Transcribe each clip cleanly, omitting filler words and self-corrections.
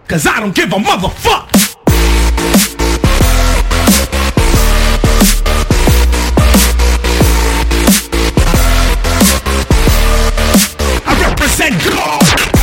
'cause I don't give a motherfuck. I represent God.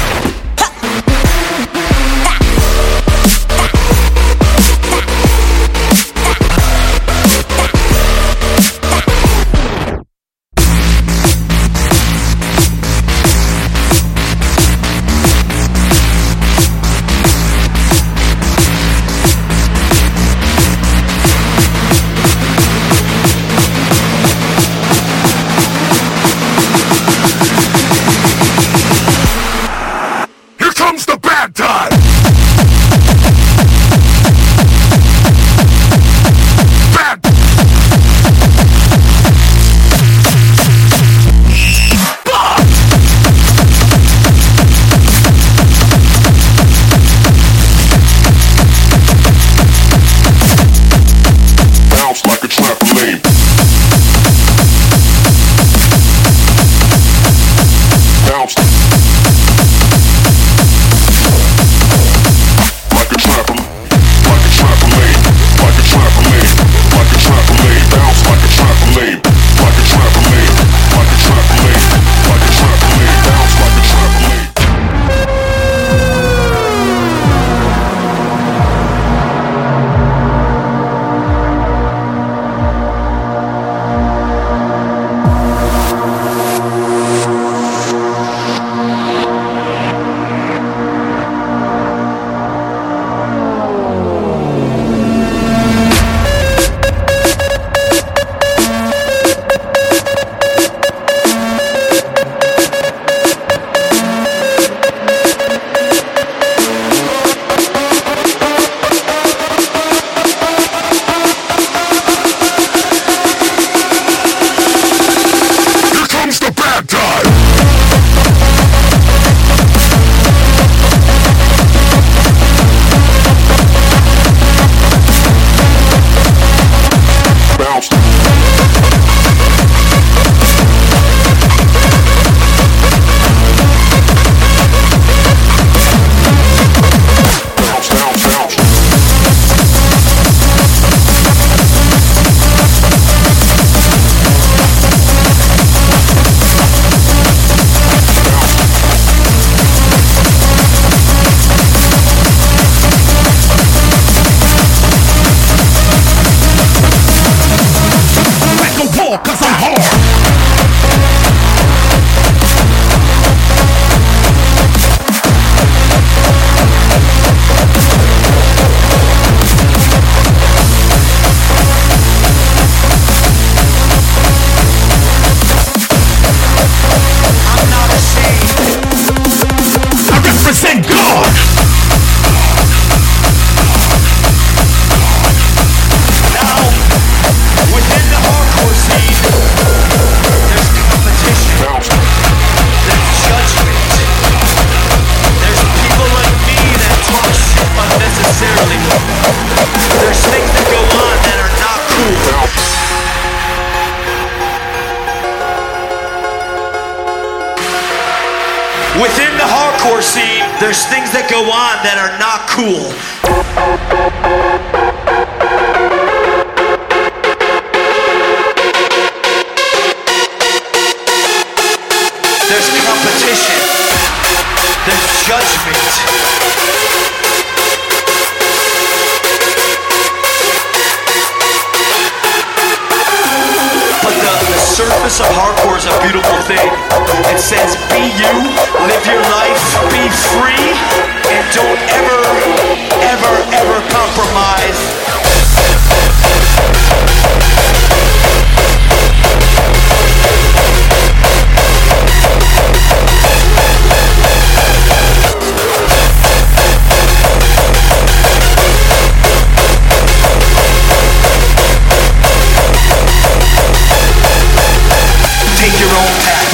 Within the hardcore scene, there's things that go on that are not cool. There's competition. There's judgment. The surface of hardcore is a beautiful thing. It says be you, live your life, be free, and don't ever, ever, ever compromise. Take your own path.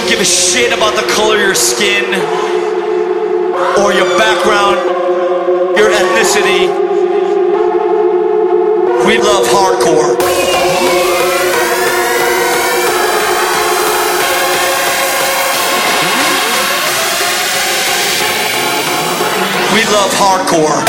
don't give a shit about the color of your skin or your background, your ethnicity. We love hardcore. We love hardcore.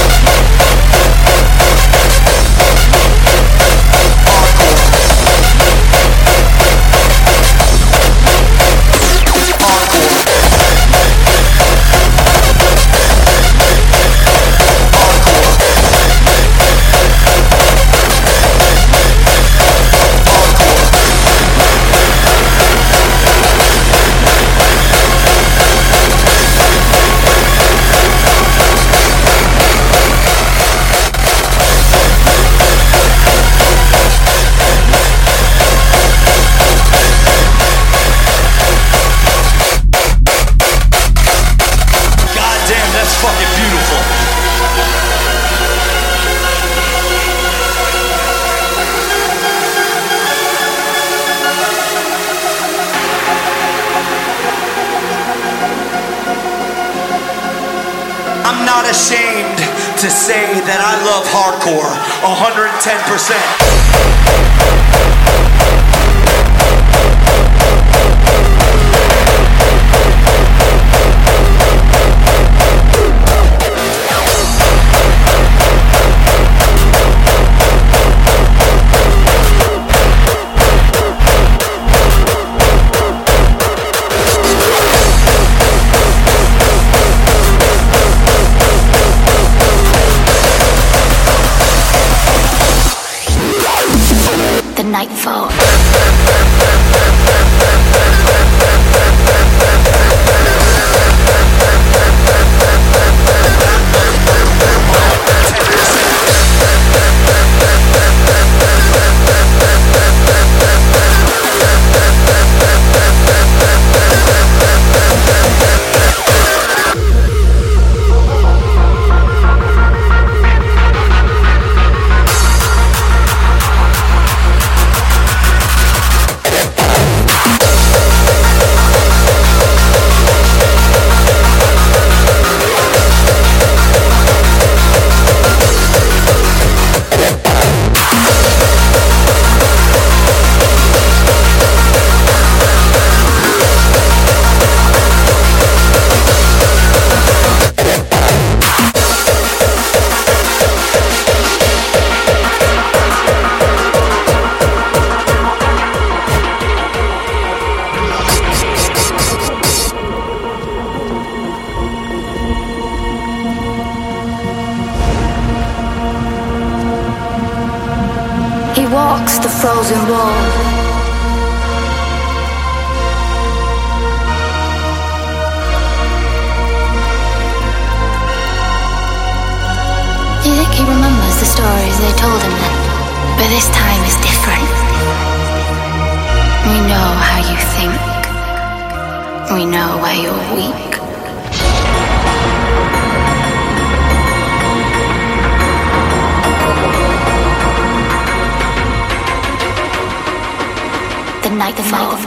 Ashamed to say that I love hardcore 110%. Nightfall. Walks the frozen wall. Do you think he remembers the stories they told him then? But this time is different. We know how you think. We know where you're weak. Nightfall.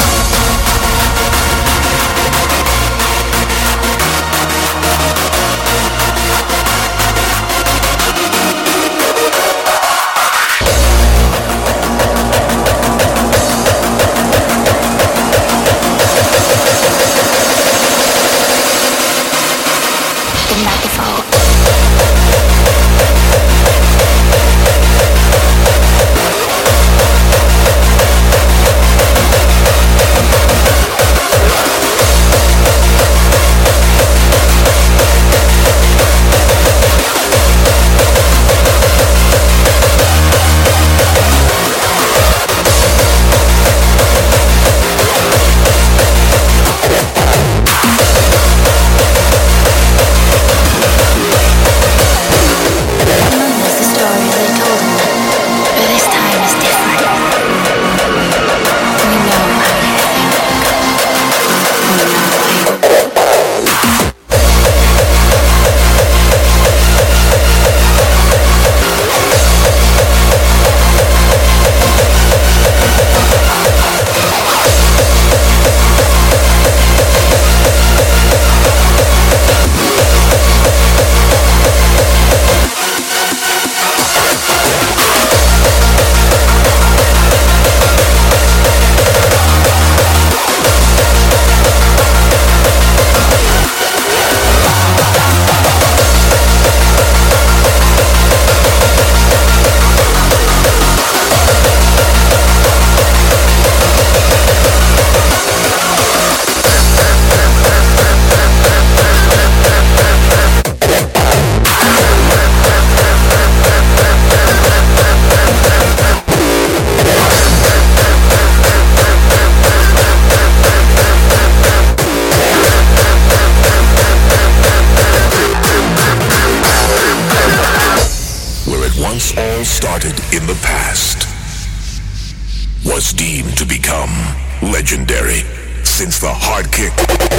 in the past was deemed to become legendary since the hard kick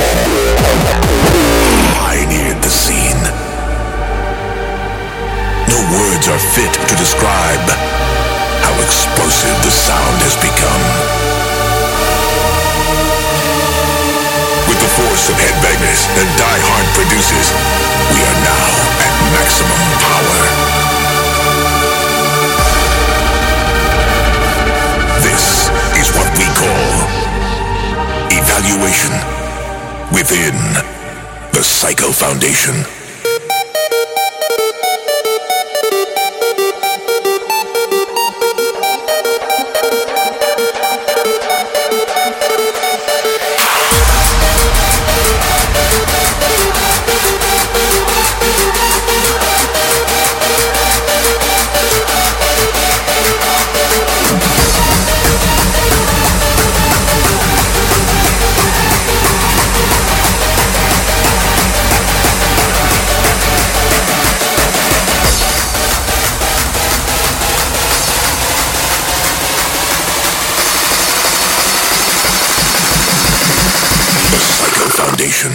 pioneered the scene. No words are fit to describe how explosive the sound has become. With the force of headbangers that Die Hard produces, we are now at maximum power. This is what we call evaluation within the Psycho Foundation. Foundation.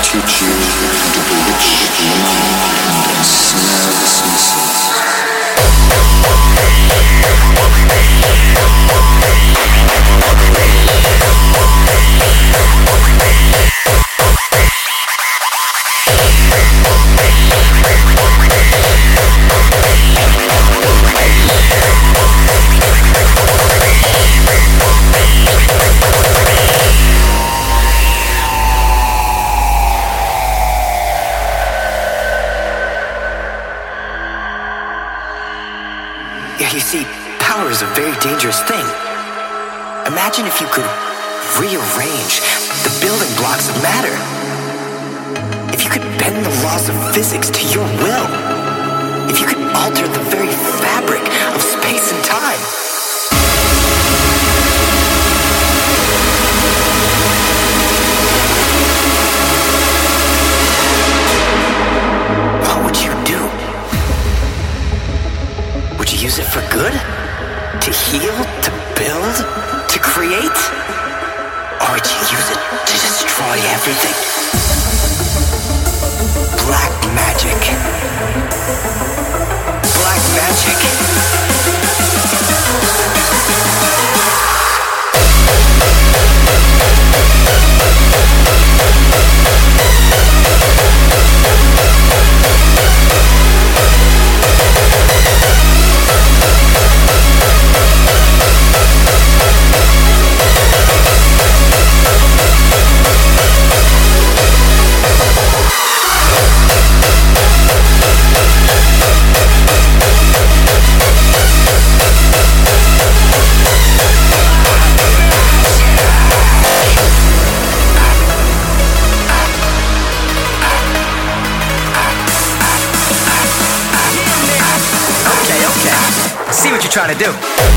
teach you to bewitch the mind and ensnare the senses. You see, power is a very dangerous thing. Imagine if you could rearrange the building blocks of matter. If you could bend the laws of physics to your will. If you could alter the very fabric of space and time. What would you do? Would you use it for good? To heal? To build? To create? Or would you use it to destroy everything? Black magic. Black magic. See what you're trying to do.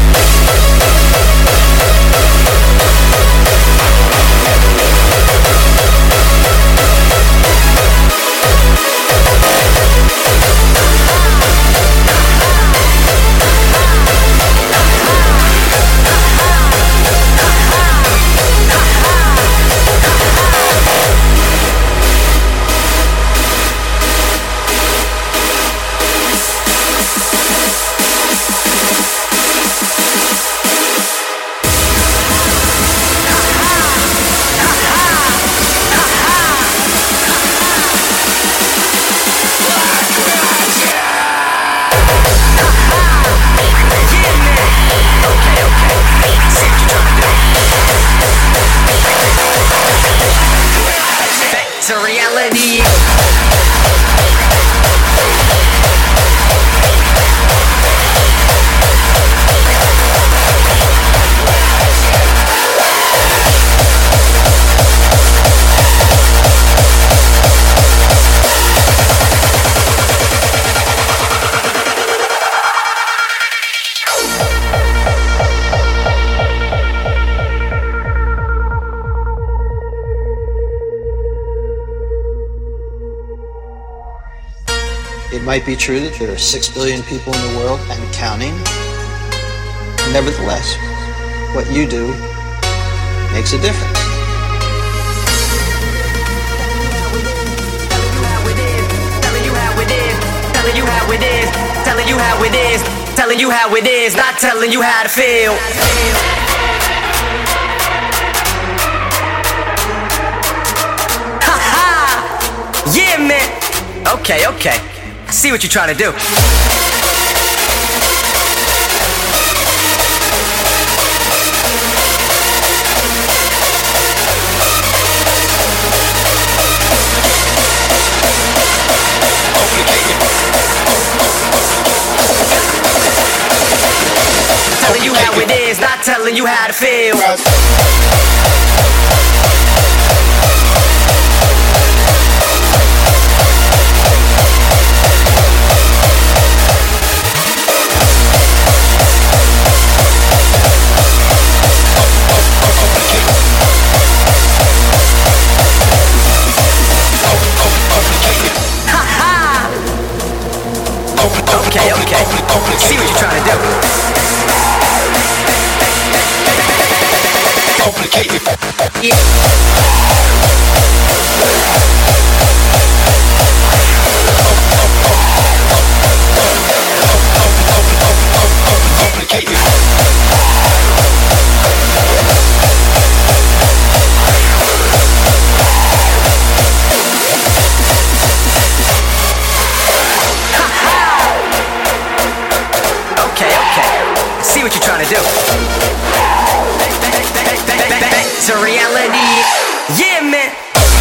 To reality. It might be true that there are 6 billion people in the world and counting. Nevertheless, what you do makes a difference. Telling you how it is, telling you how it is, telling you how it is, telling you how it is, not telling you how to feel. Ha ha! Yeah, man! Okay, okay. I see what you're trying to do. Telling you how it is, not telling you how to feel. Okay, okay. See what you're trying to do. beat. Yeah, man.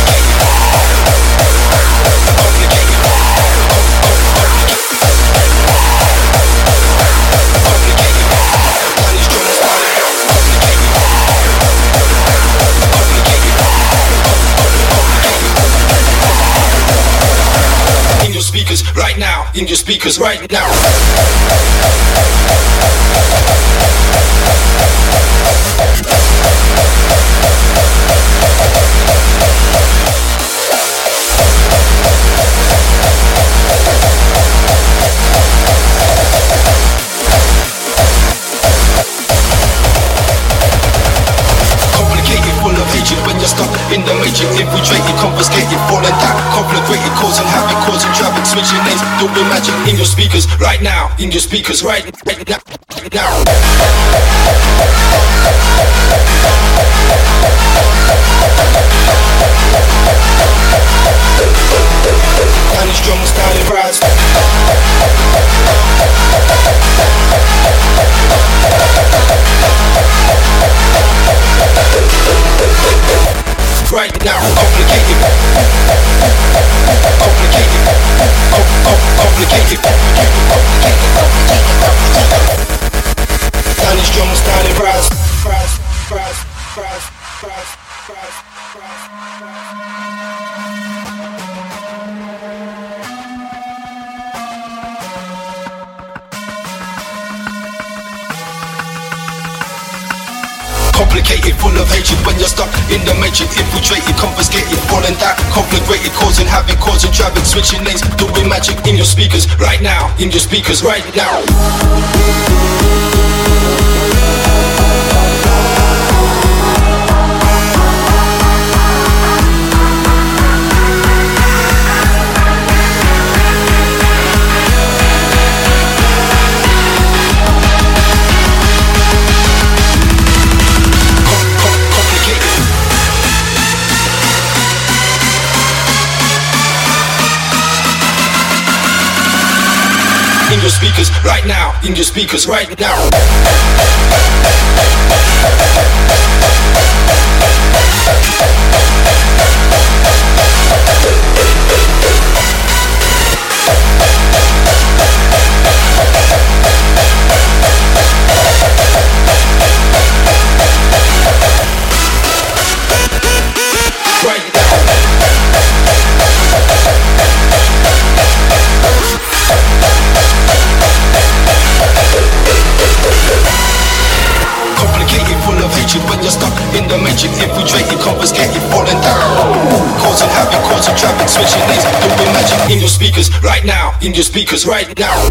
In your speakers right now, in your speakers right now. When you're stuck in the matrix, infiltrated, confiscated, falling down, conflagrated, causing havoc, causing traffic, switching lanes, doing magic in your speakers right now, in your speakers right now. Down is drums, down it rides. Right now, complicated, complicated, complicated, down these drums, down it rise. Complicated, full of hatred when you're stuck in the matrix, infiltrated, confiscated, falling down, conflagrated, causing havoc, causing traffic, switching lanes, doing magic in your speakers right now, in your speakers right now. In your speakers right now, in your speakers right now. Right now. Complicated, full of hatred when you're stuck in the matrix, infiltrated, confiscated, falling down, causing havoc, causing traffic, switching lanes, doing magic in your speakers right now, in your speakers right now.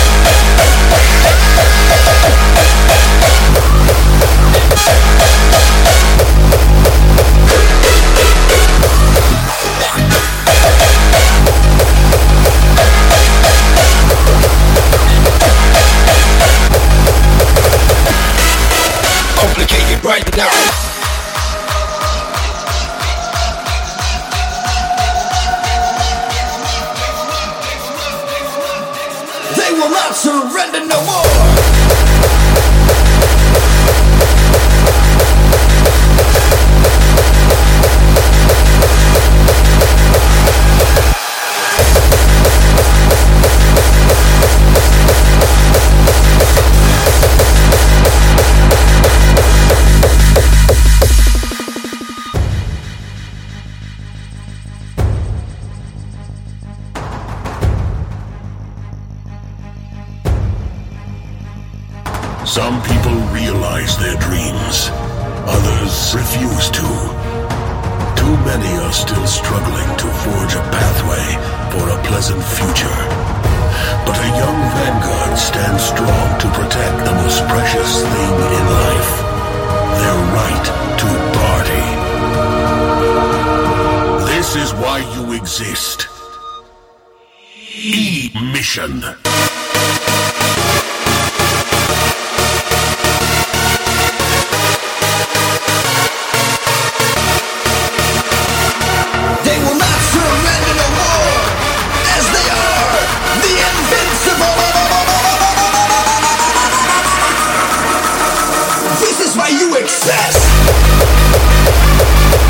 Complicated right now. They will not surrender no more. Some people realize their dreams, others refuse to. Too many are still struggling to forge a pathway for a pleasant future. But a young vanguard stands strong to protect the most precious thing in life, their right to party. This is why you exist. E-Mission. This is why you excess.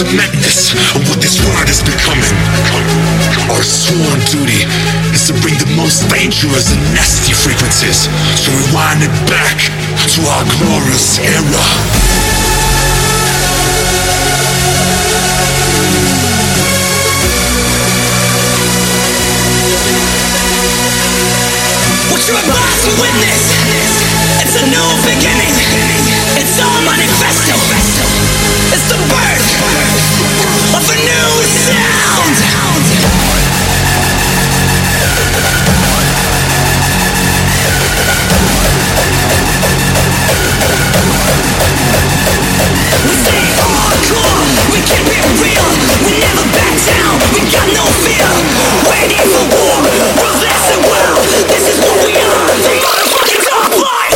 the madness of what this world is becoming. Our sworn duty is to bring the most dangerous and nasty frequencies, to rewind it back to our glorious era. What you're about to witness, it's a new beginning. It's all manifesto. It's the birth of a new sound. We stay hardcore, we keep it real. We never back down, we got no fear. Waiting for war, ruthless and wild. This is what we are, the motherfucking top flight.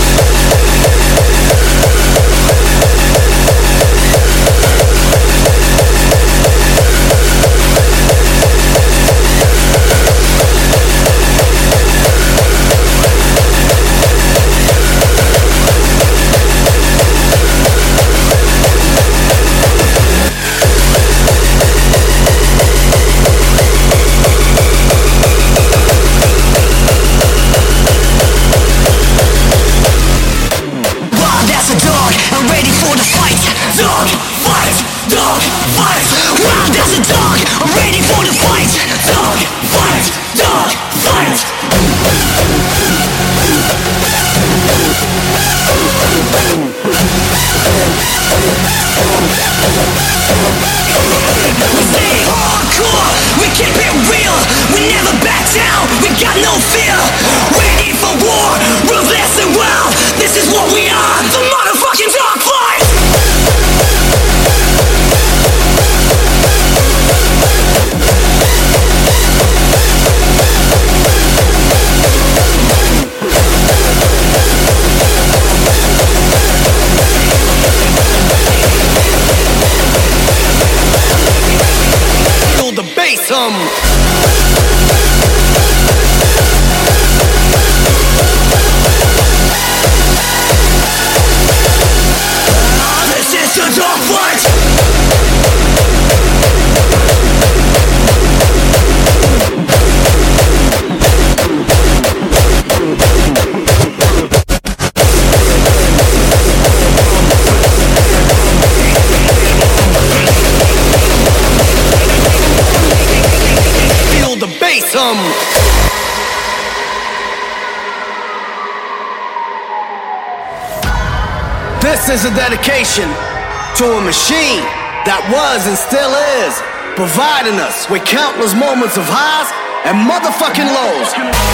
This is a dedication to a machine that was and still is providing us with countless moments of highs and motherfucking lows.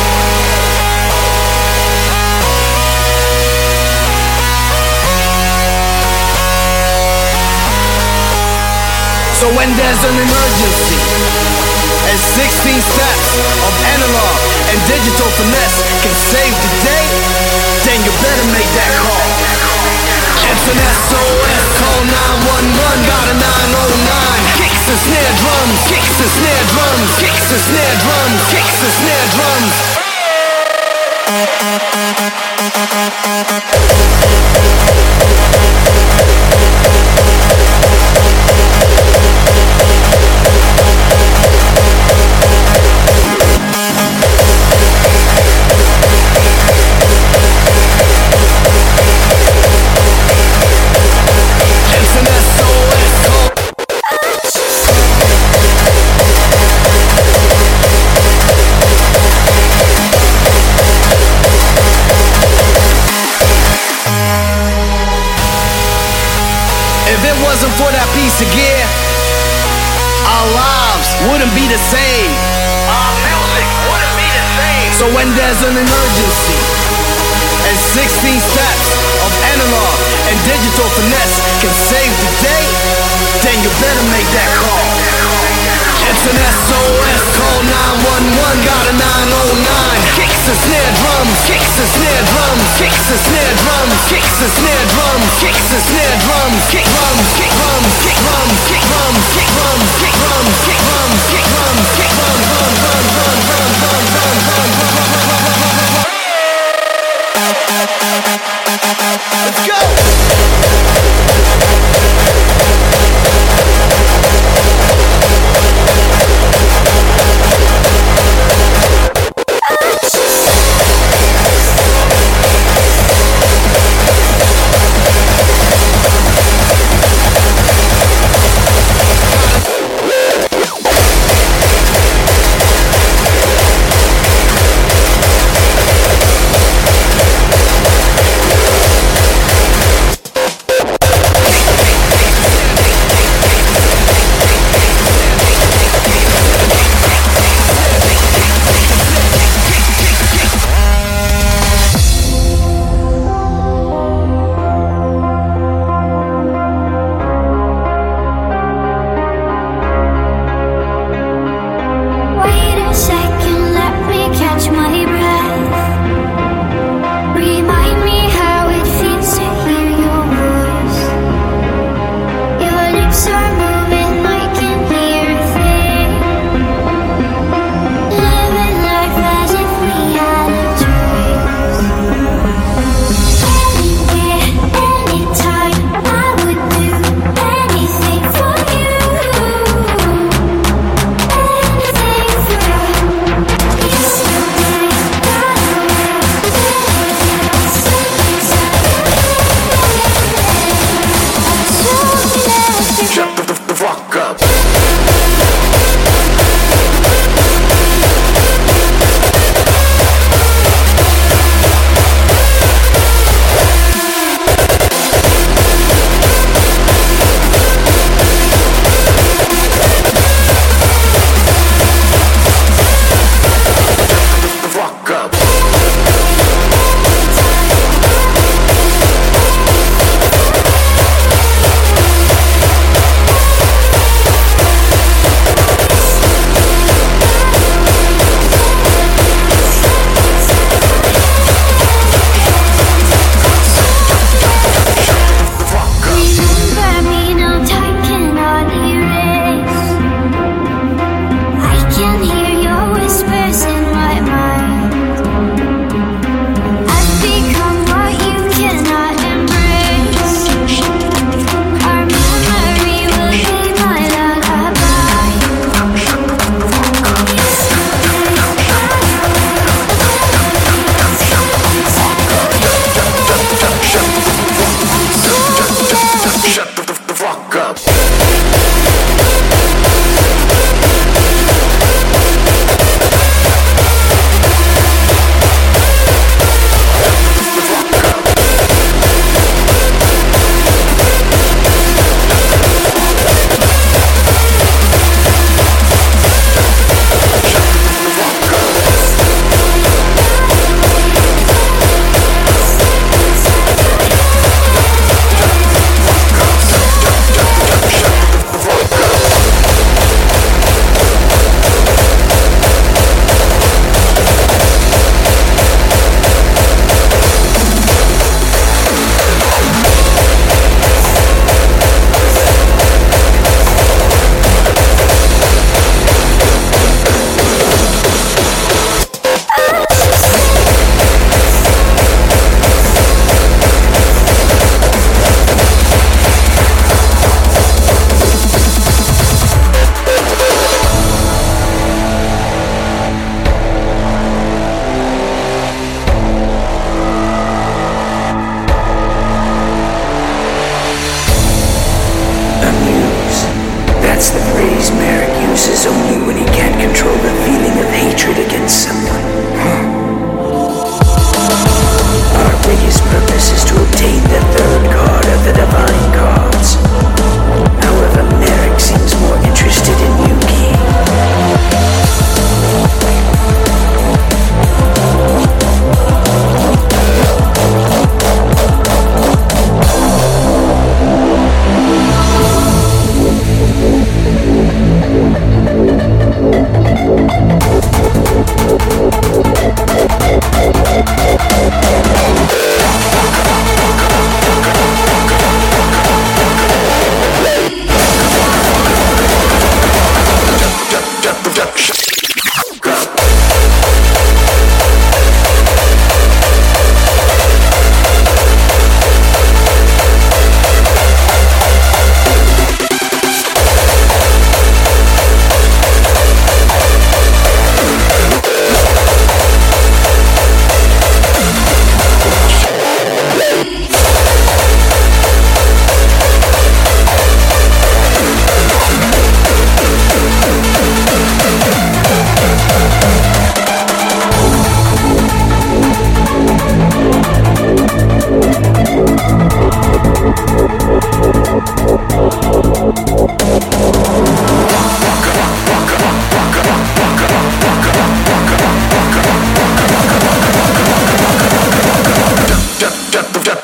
So when there's an emergency and 16 steps of analog and digital finesse can save the day, then you better make that call. It's an SOS, call 911, got a 909. Kicks and snare drums, kicks and snare drums, kicks and snare drums, kicks and snare drums. For that piece of gear, our lives wouldn't be the same. Our music wouldn't be the same. So when there's an emergency and 16 steps of analog and digital finesse can save the day, then you better make that call. It's an SOS, call 911, got a 909. Kicks and snare drums, kicks and snare drums, kicks and snare drums, kicks and snare drums, kicks and snare drums, kick drums, kick drums, kick drums, kick drums, kick drums, kick drums, kick drums, kick drums, kick drums, run, run, run, run, run, run, run, run. Let's go!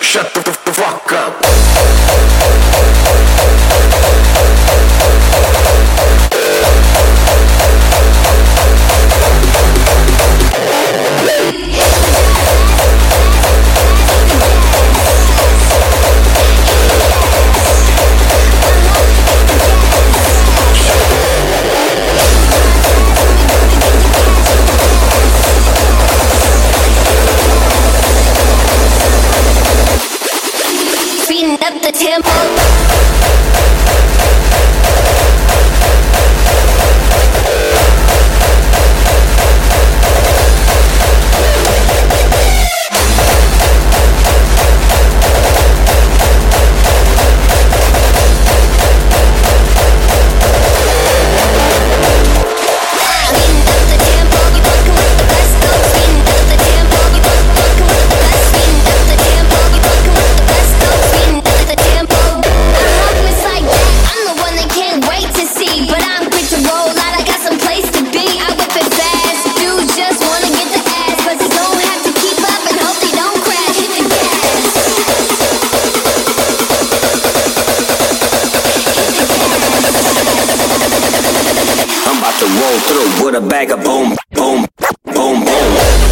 shut the fuck up. Speeding up the tempo. To roll through with a bag of boom, boom, boom, boom.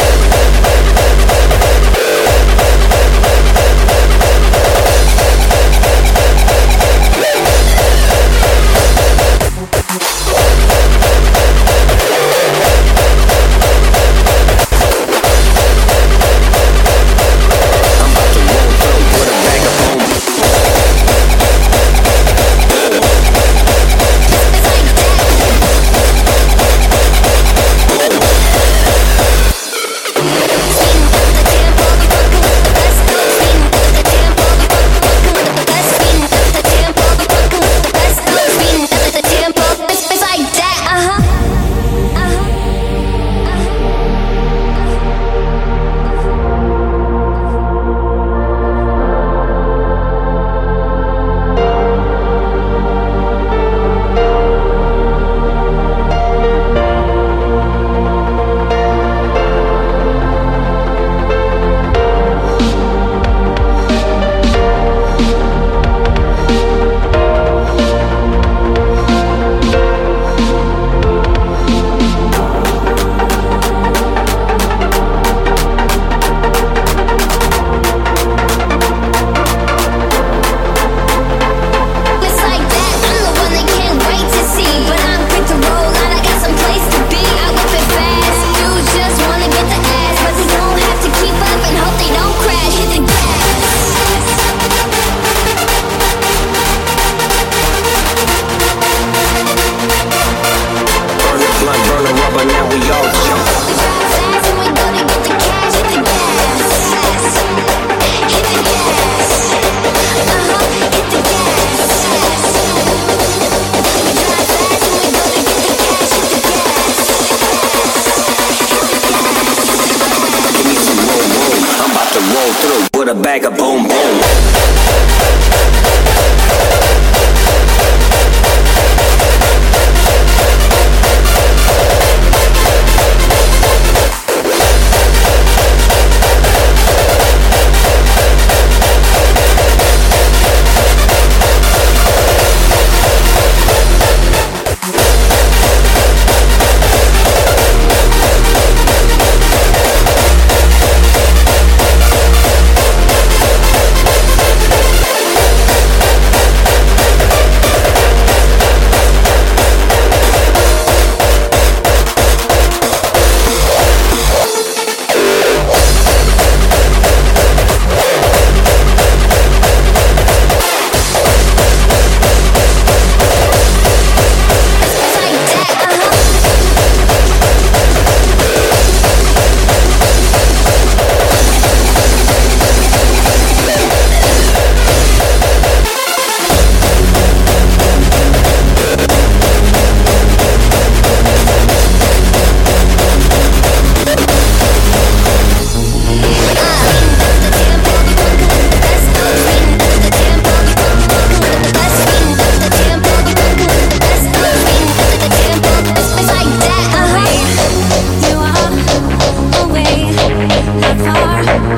With a bag of boom, boom.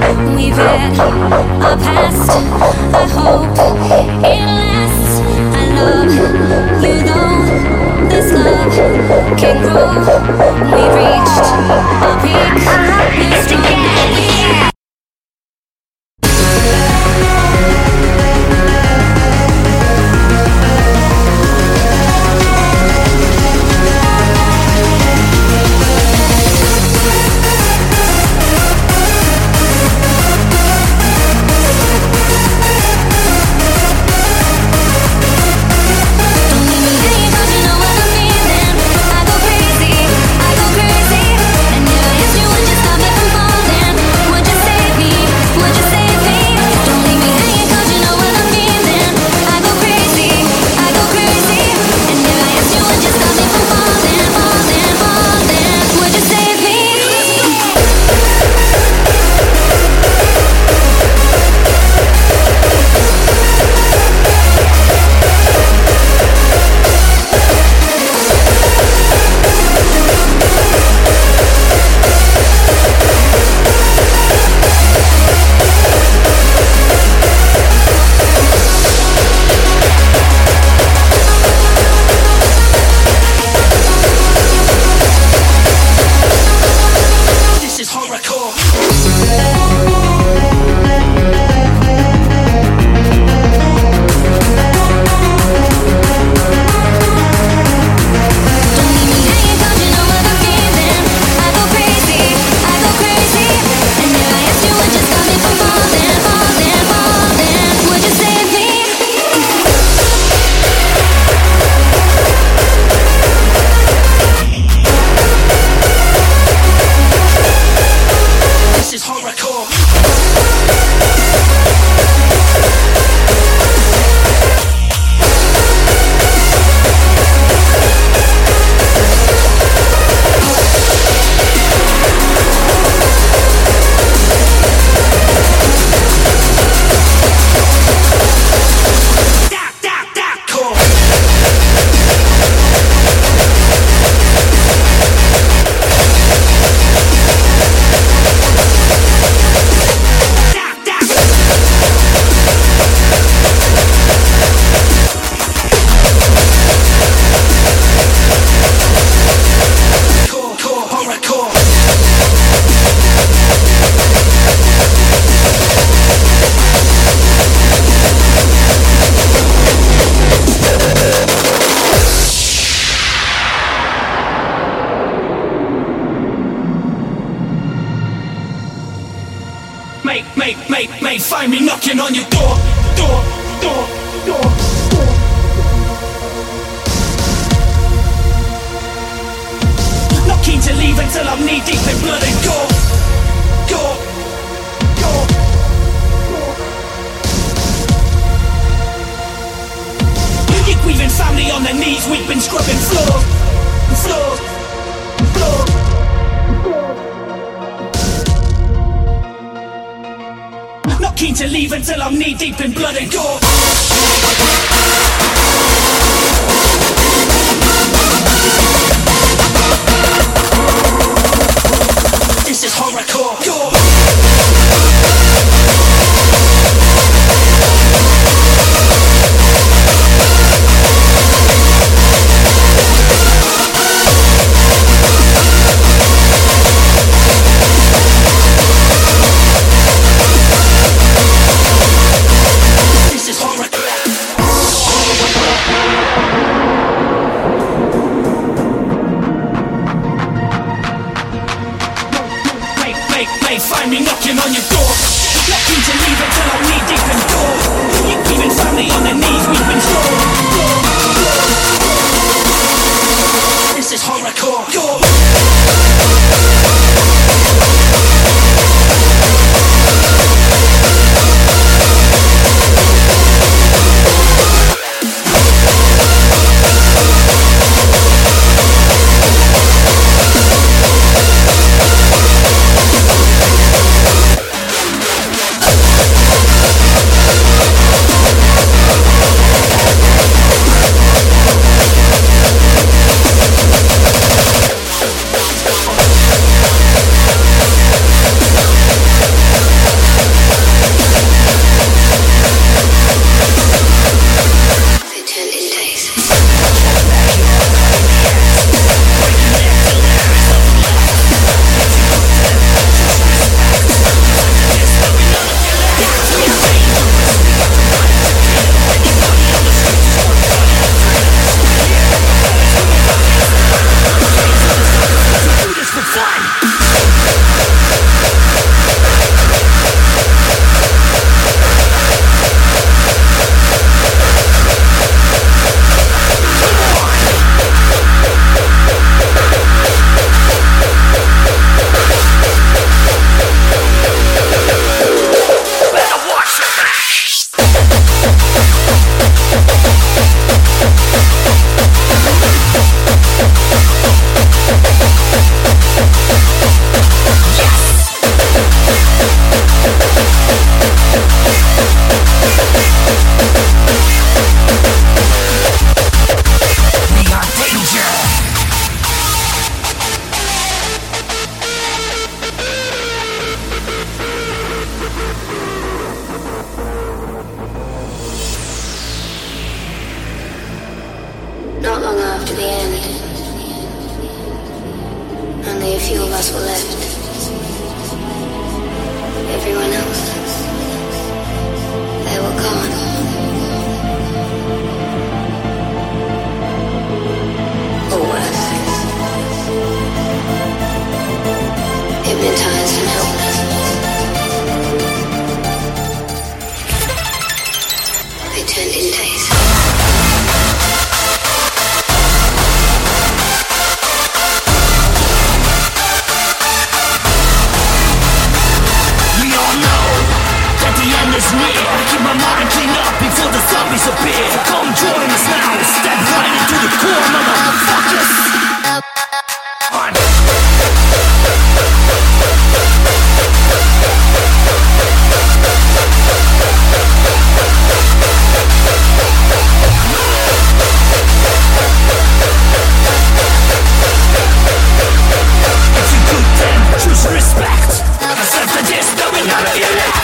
we've had a past. I hope it lasts. I love you though this love can grow. We've reached a peak. You're strong. May find me knocking on your door. Not keen to leave until I'm knee deep in blood and gore. We've been family on their knees, we've been scrubbing floor. Not keen to leave until I'm knee deep in blood and gore. This is horrorcore. Find me knocking on your door. Not keen to leave until I'm knee deep in gore. We've been family on their knees, we've been strong. This is horrorcore. us were left. Everyone else, they were gone. Or worse, hypnotized and helpless. They turned into days. Is near. Keep my mind cleaned up before the zombies appear. Come join us now. Step right into the core, motherfuckers. If you could then choose respect, accept the diss, knowing none of you left.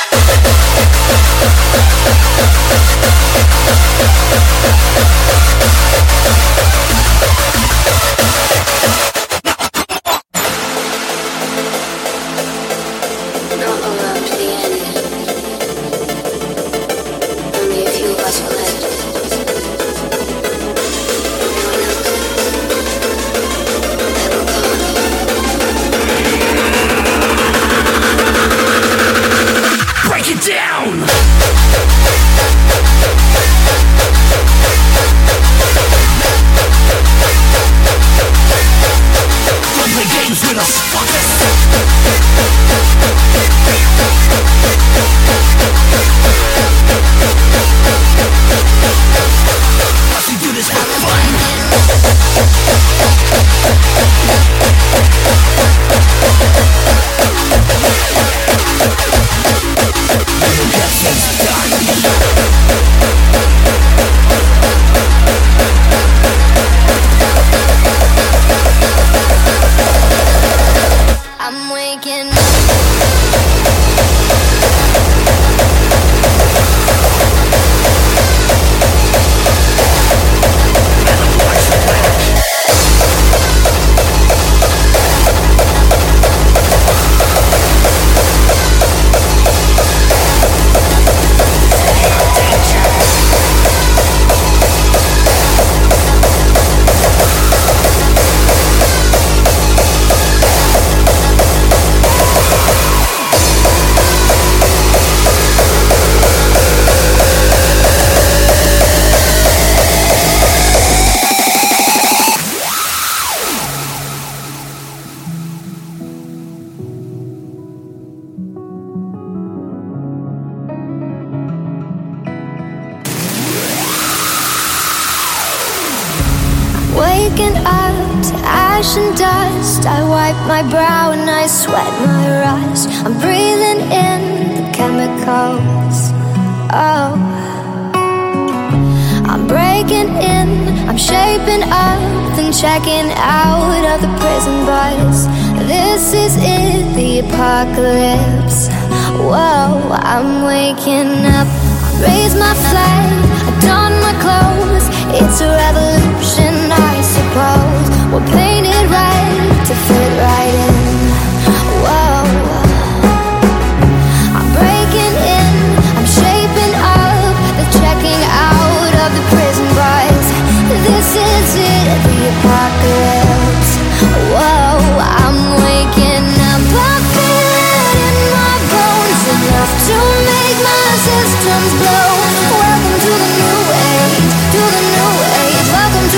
Waking up to ash and dust, I wipe my brow and I sweat my rust. I'm breathing in the chemicals. Oh, I'm breaking in, I'm shaping up, then checking out of the prison bus. This is it, the apocalypse. Whoa, I'm waking up. I raise my flag, I don my clothes. It's a revolution, I suppose. We're painted red to fit right in. Whoa, I'm breaking in, I'm shaping up, the checking out of the prison bars. This is it, the apocalypse. Whoa, I'm waking up, I feel it in my bones, enough to make my systems blow. Welcome to the new age, to the new age. Welcome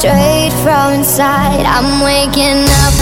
straight from inside. I'm waking up.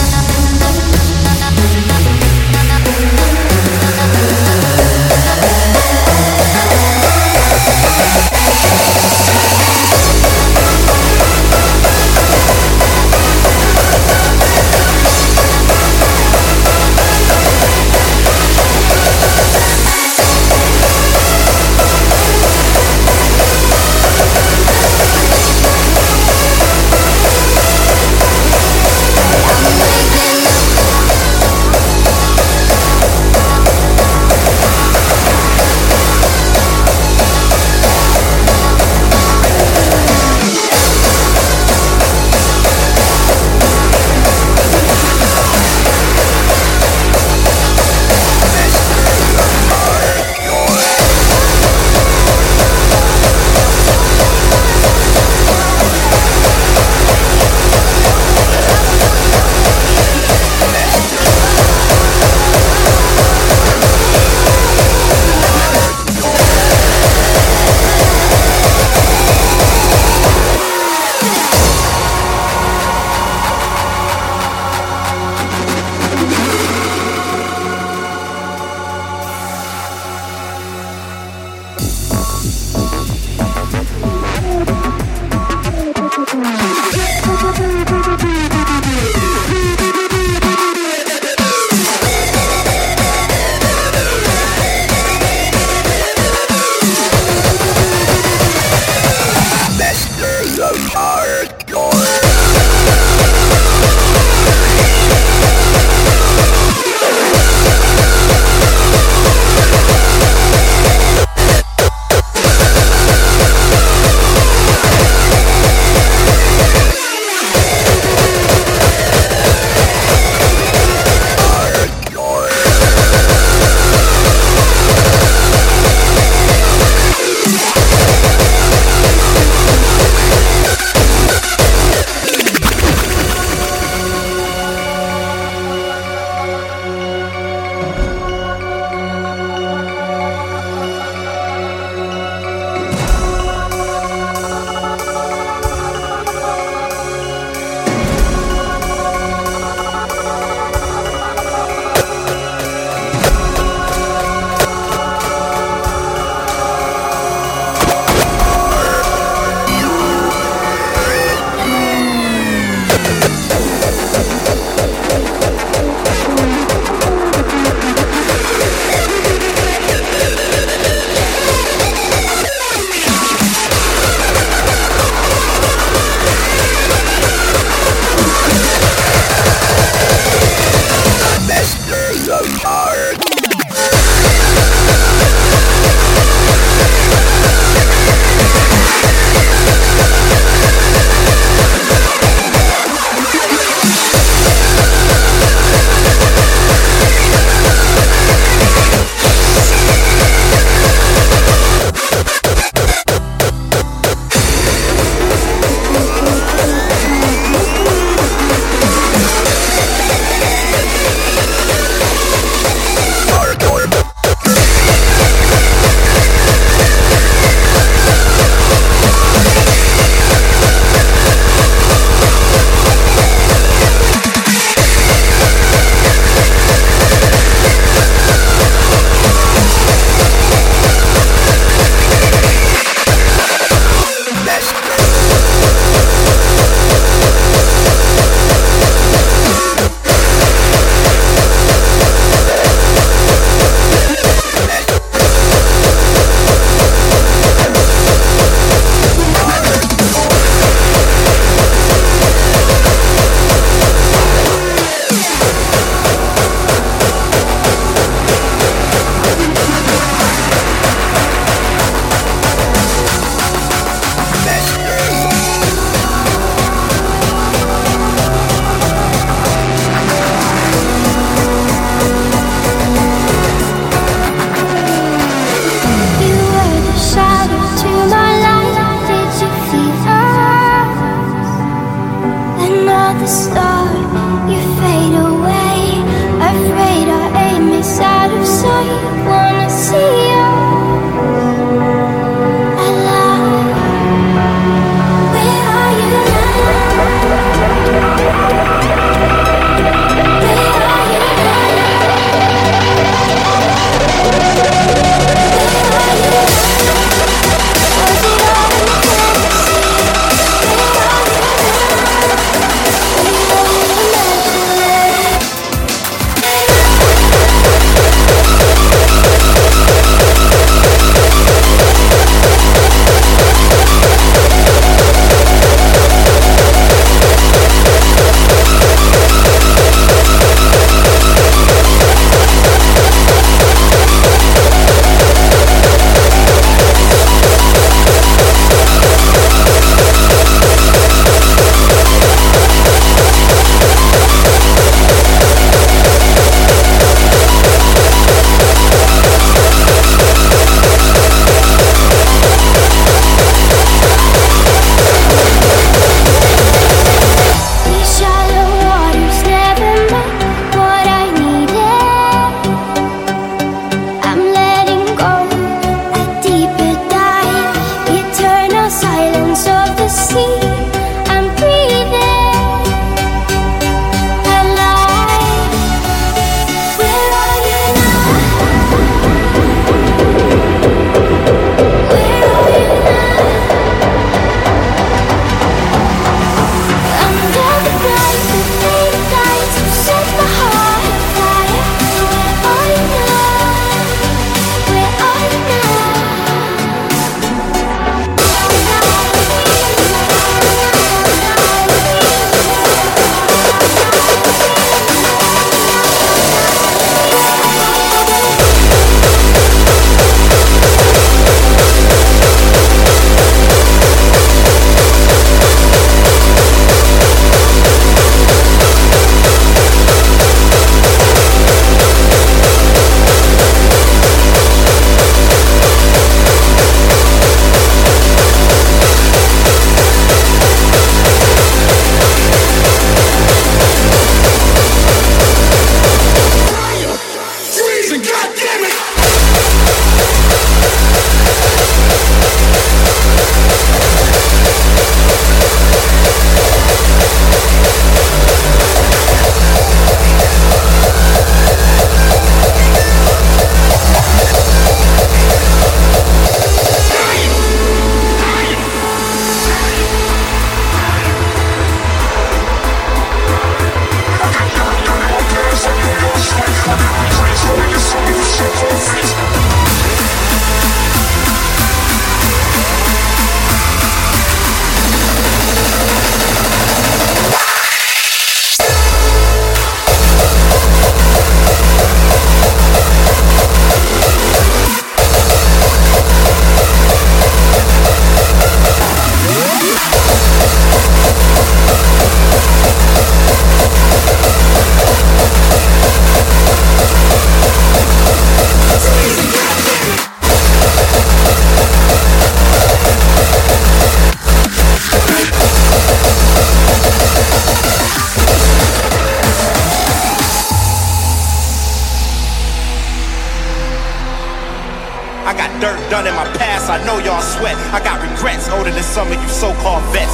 dirt done in my past, I know y'all sweat. I got regrets older than some of you so-called vets.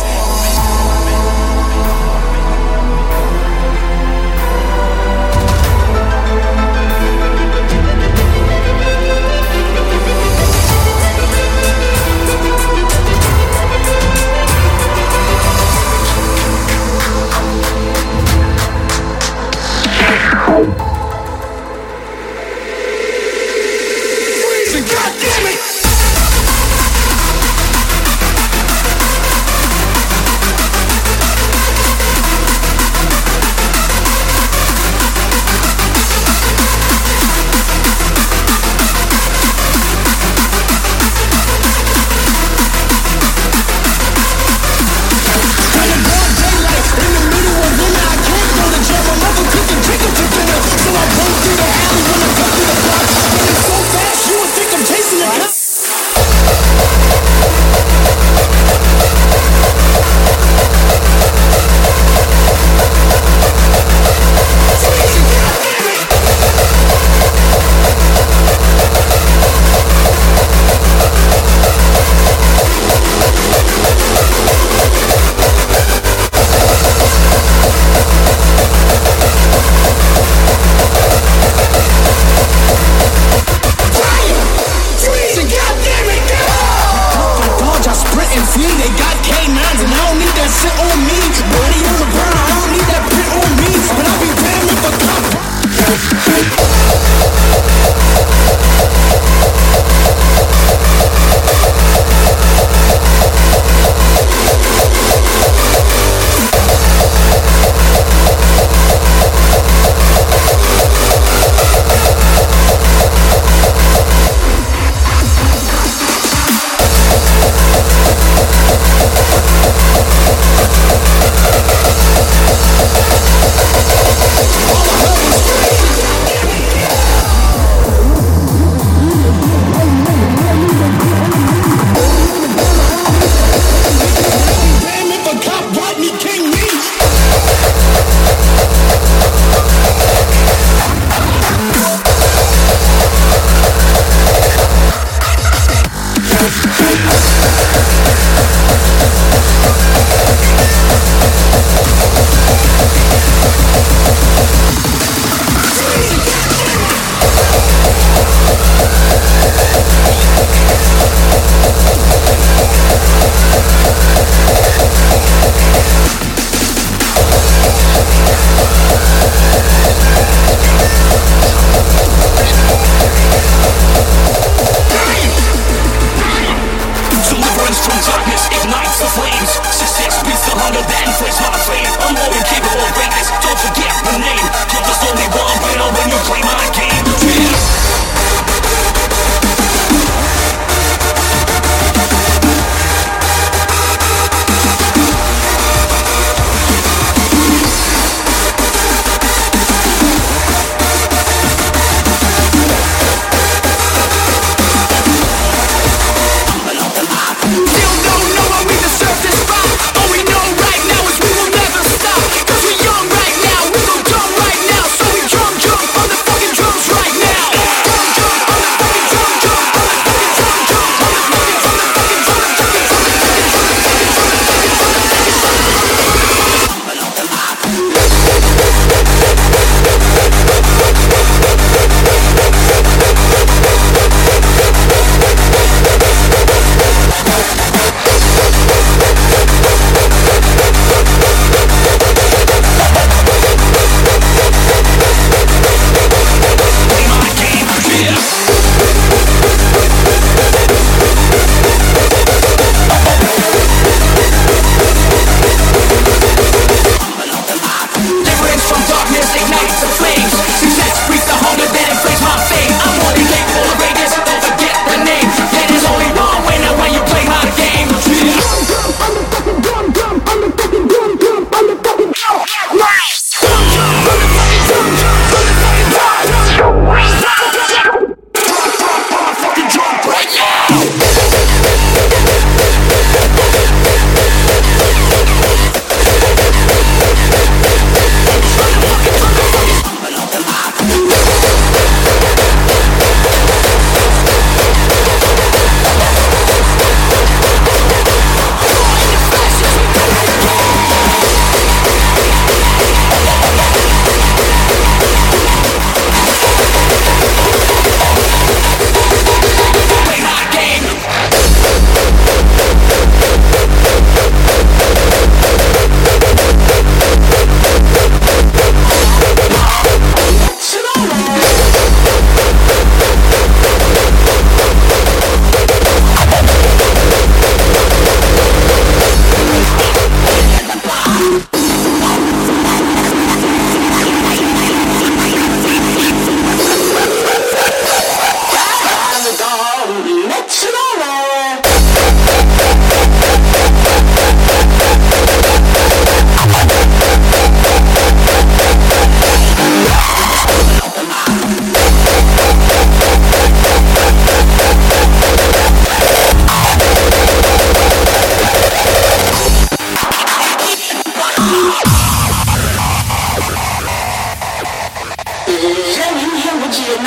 God damn it!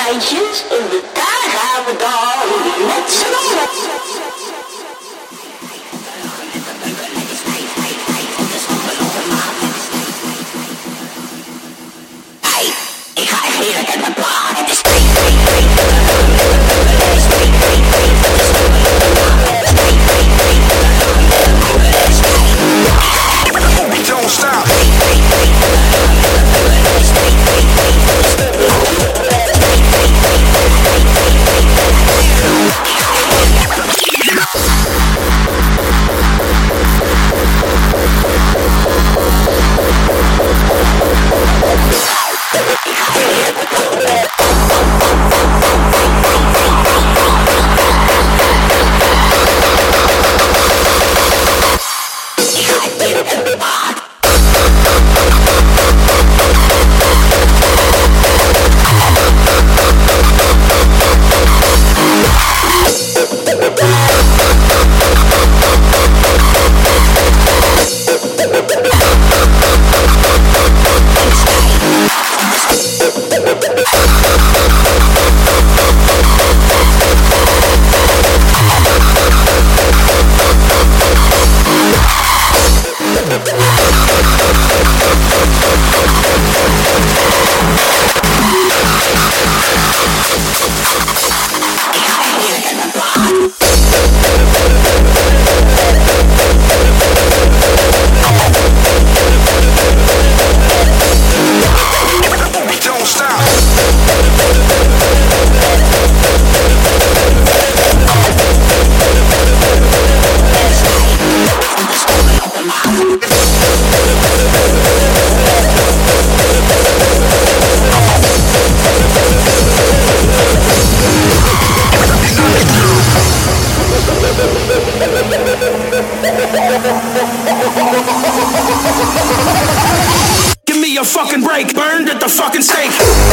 patience and you gotta have it all. Let's go. Don't stop. Give me a fucking break, burned at the fucking stake.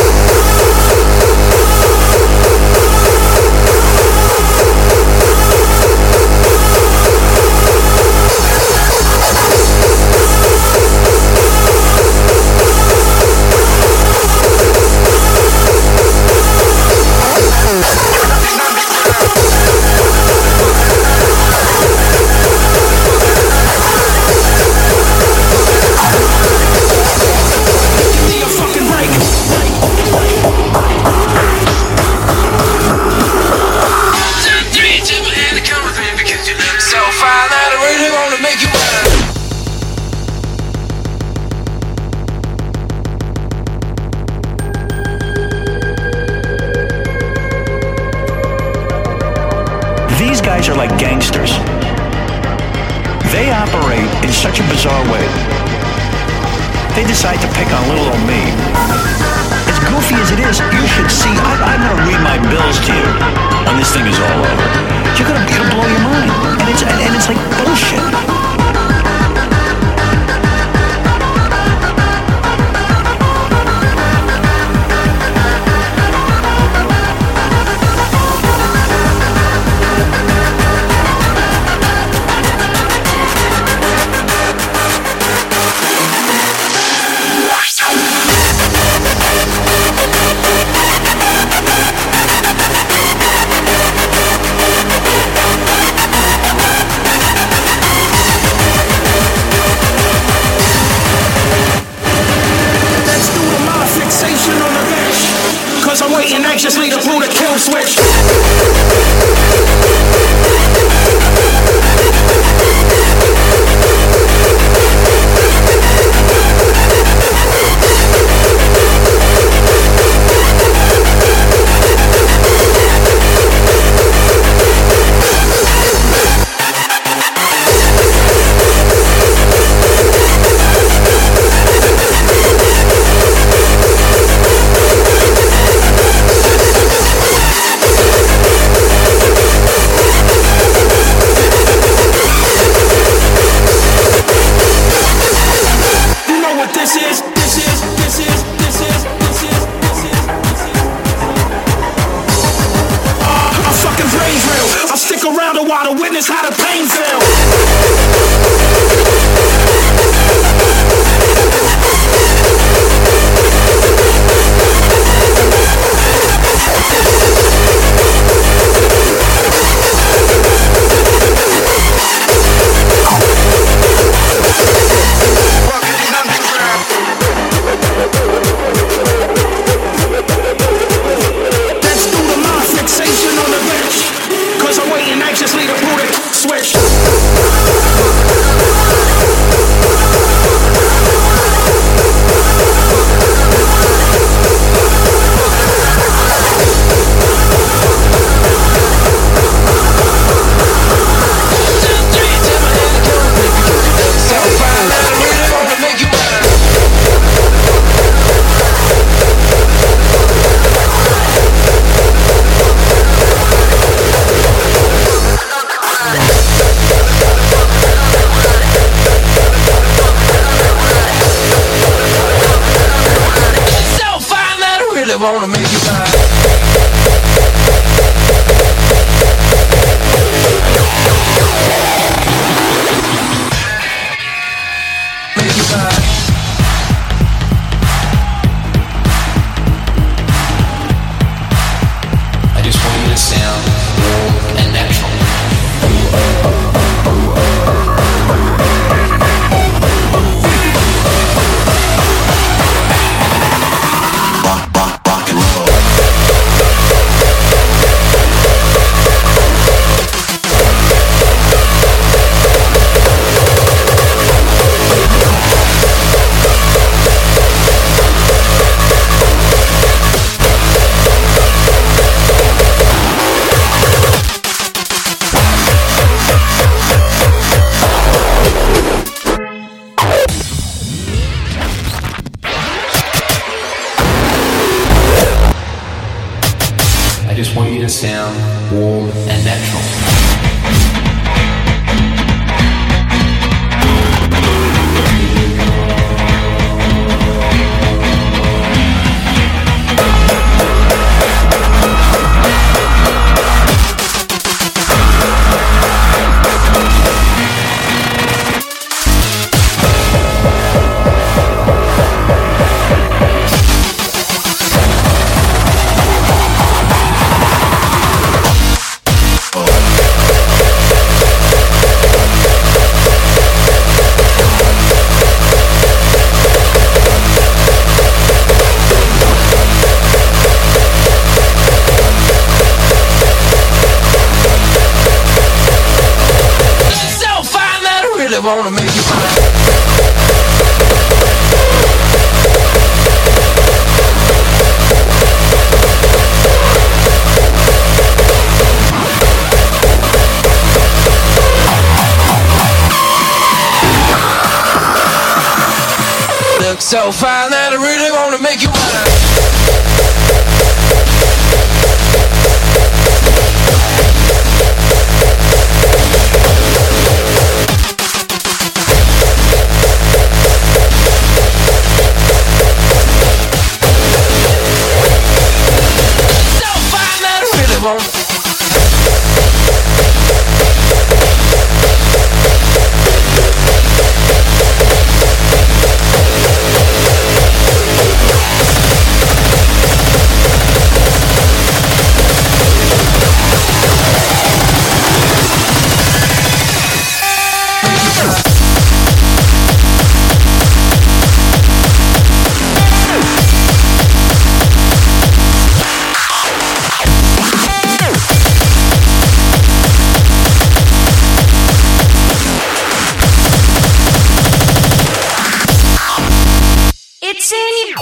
These guys are like gangsters. They operate in such a bizarre way. They decide to pick on little old me. As goofy as it is, you should see. I'm going to read my bills to you when this thing is all over. It'll blow your mind. And it's like bullshit. I'm waiting anxiously to pull the kill switch. really wanna make you mine. Make you mine. I just want you to sound warm and natural. I just want you to sound warm and natural. Wanna make you mine. Look so fine that I really wanna make you mine. It's in you.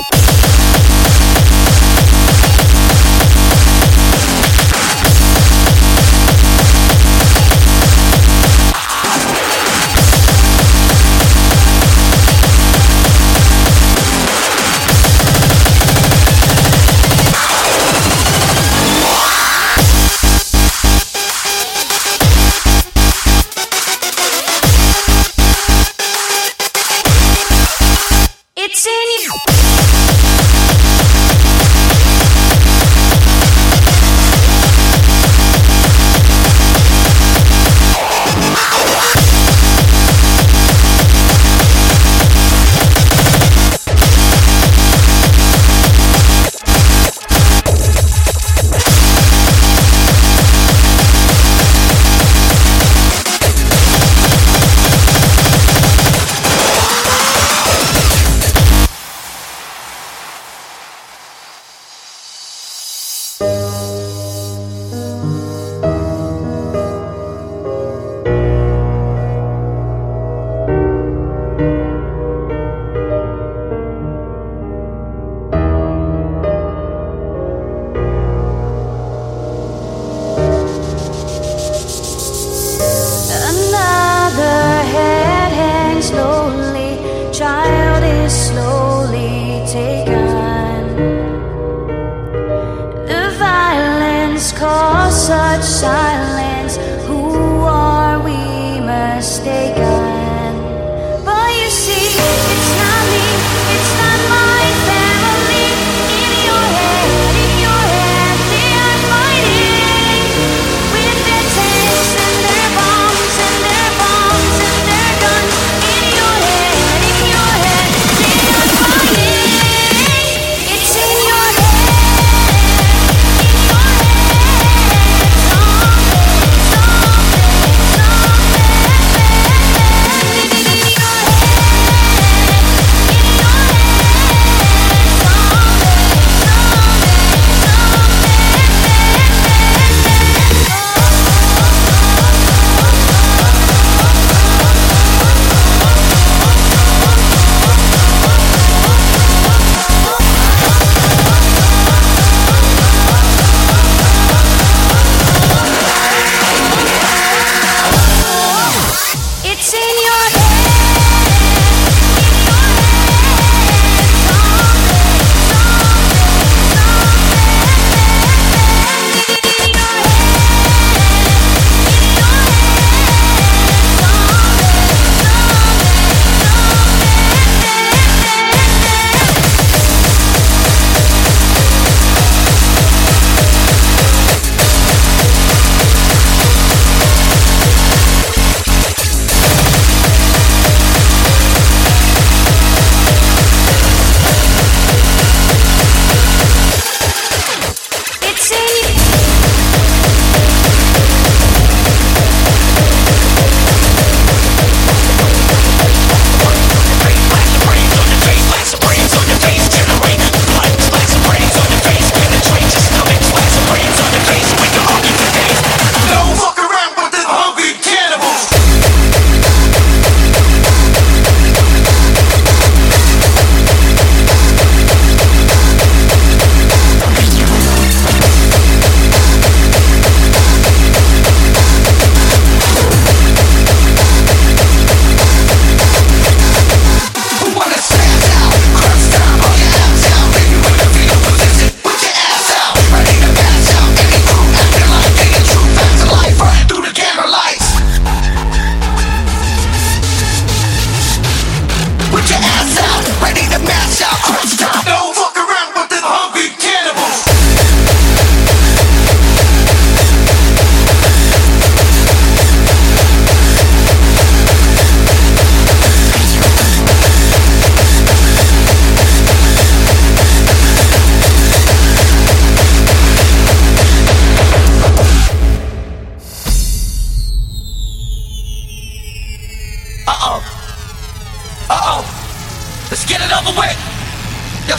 It's in you.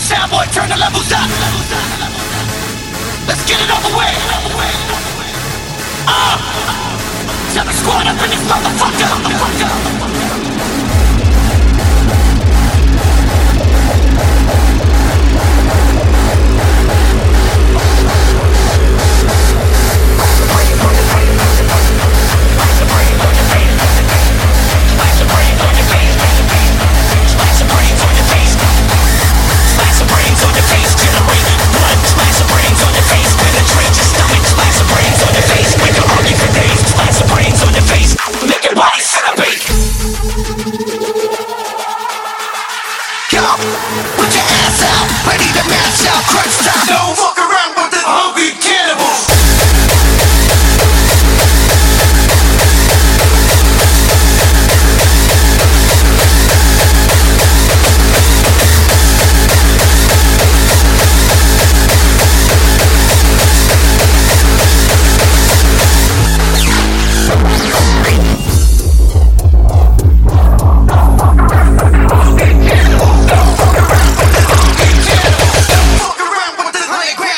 Soundboy, turn the levels up. Let's get it over with. Tell the squad up in this motherfucker. Don't fuck around with the hungry cannibals. Fuck around with the hungry cannibals.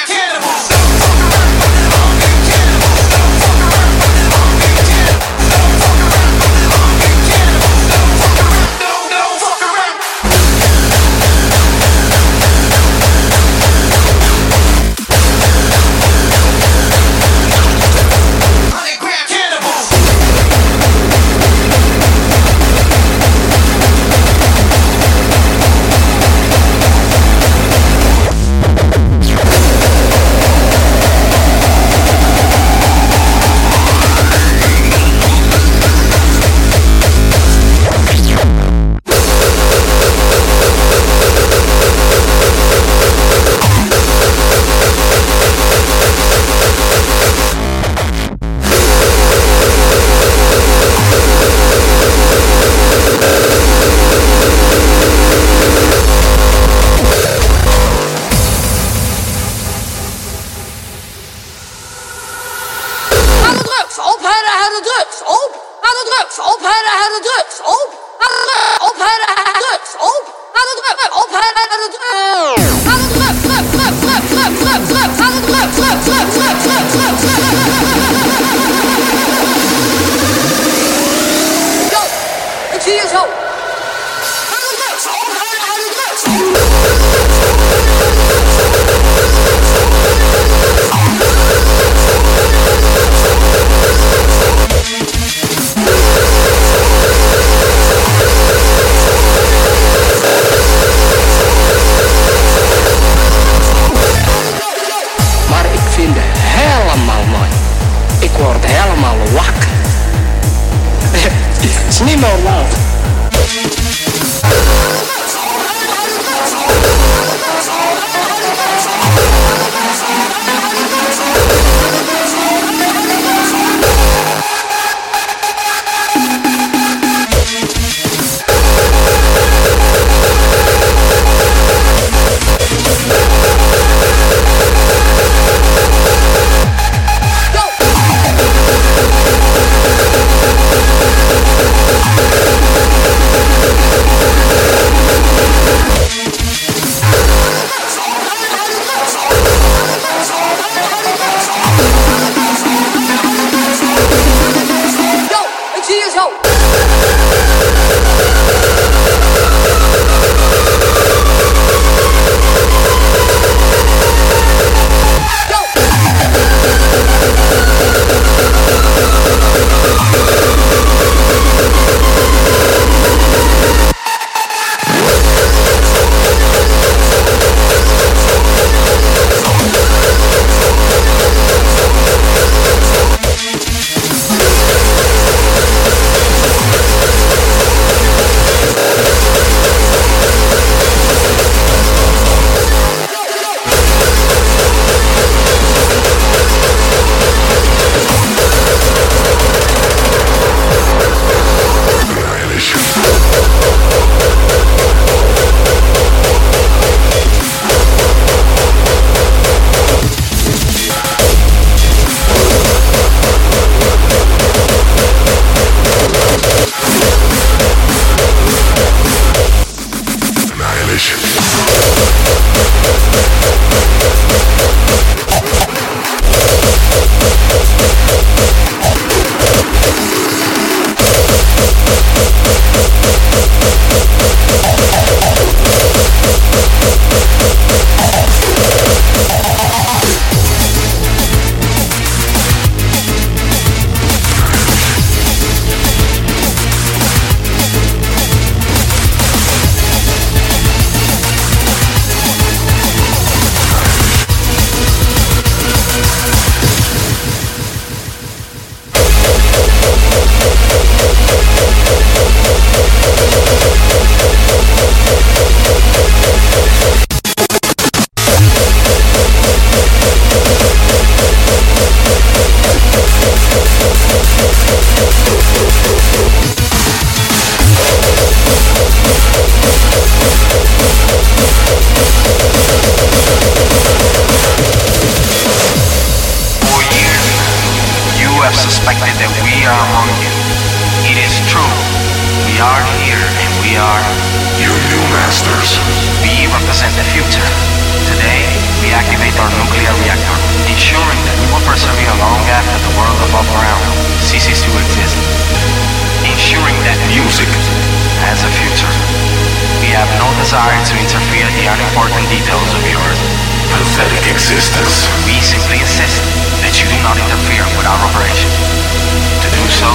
are among you. It is true. We are here and we are your new masters. We represent the future. Today, we activate our nuclear reactor, ensuring that we will persevere long after the world above ground ceases to exist. Ensuring that music has a future. We have no desire to interfere in the unimportant details of your pathetic existence. We simply insist that you do not interfere with our operation. To do so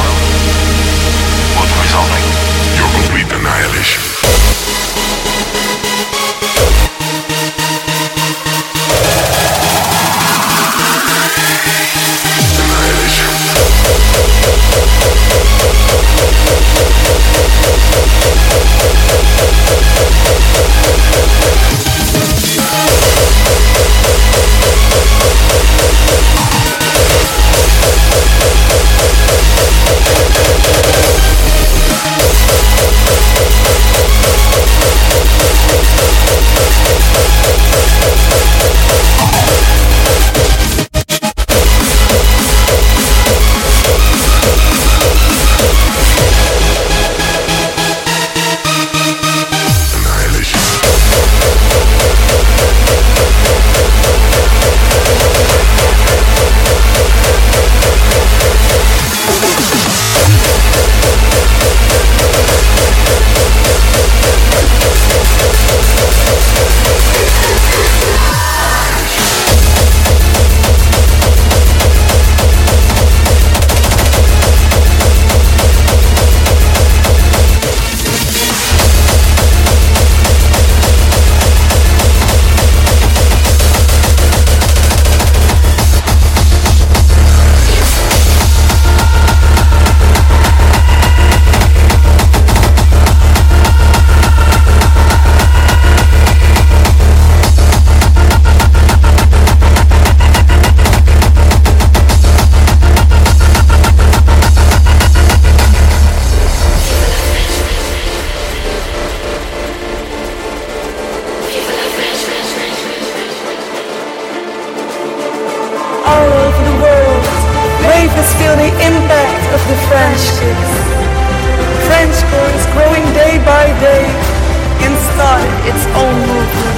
would result in your complete annihilation. French girls growing day by day and started its own movement.